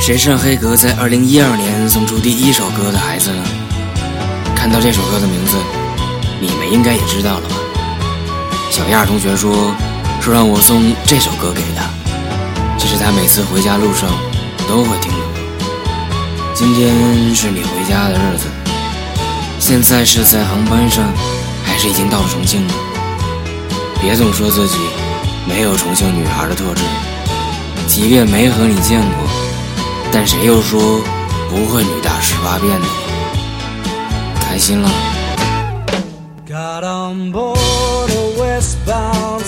谁是黑格在2012年送出第一首歌的孩子呢？看到这首歌的名字，你们应该也知道了吧？小亚同学说让我送这首歌给他，这是他每次回家路上都会听的。今天是你回家的日子，现在是在航班上，还是已经到了重庆呢？别总说自己没有重庆女孩的特质，即便没和你见过，但谁又说不会女大18变的？开心了。 Got on board a westbound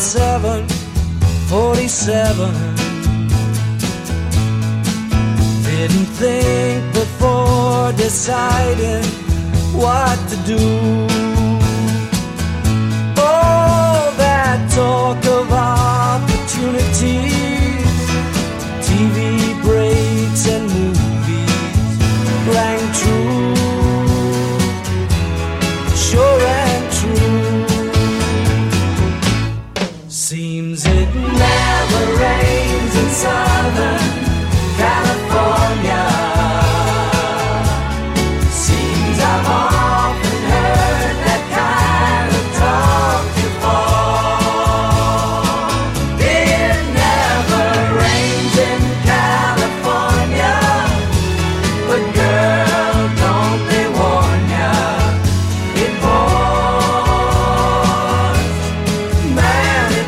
747. Didn't think before deciding what to do. All that talk of opportunities, TV breaks and movies rang true, sure and true. Seems it never rains in Southern California. Seems I've often heard that kind of talk before. It never rains in California, but girl, don't they warn ya, it pours, man it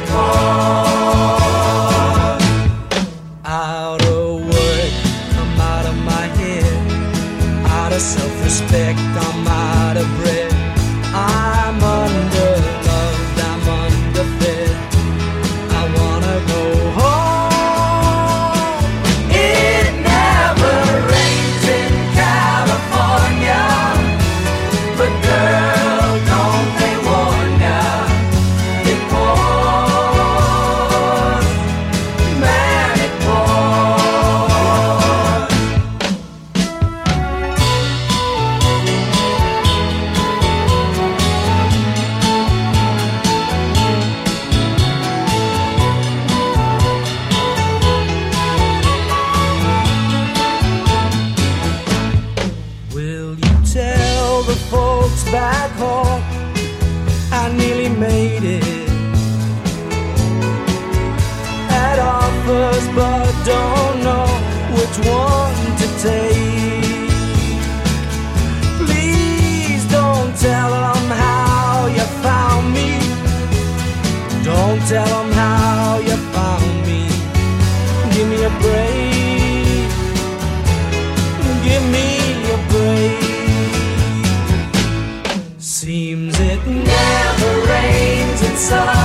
pours. Out of work, I'm out of my head, out of self-respect, I'm out of breath. I'm underloved, I'm underfed, I wanna go home. It never rains in California, but girl, don't they warn ya, it pours, man it pours. Will you tell the folks back home I nearly made it? Had offers but don't know which one to take. Please don't tell them how you found me. Don't tell them how you found me. Give me a break. Give me a break. Seems it never rains in summer.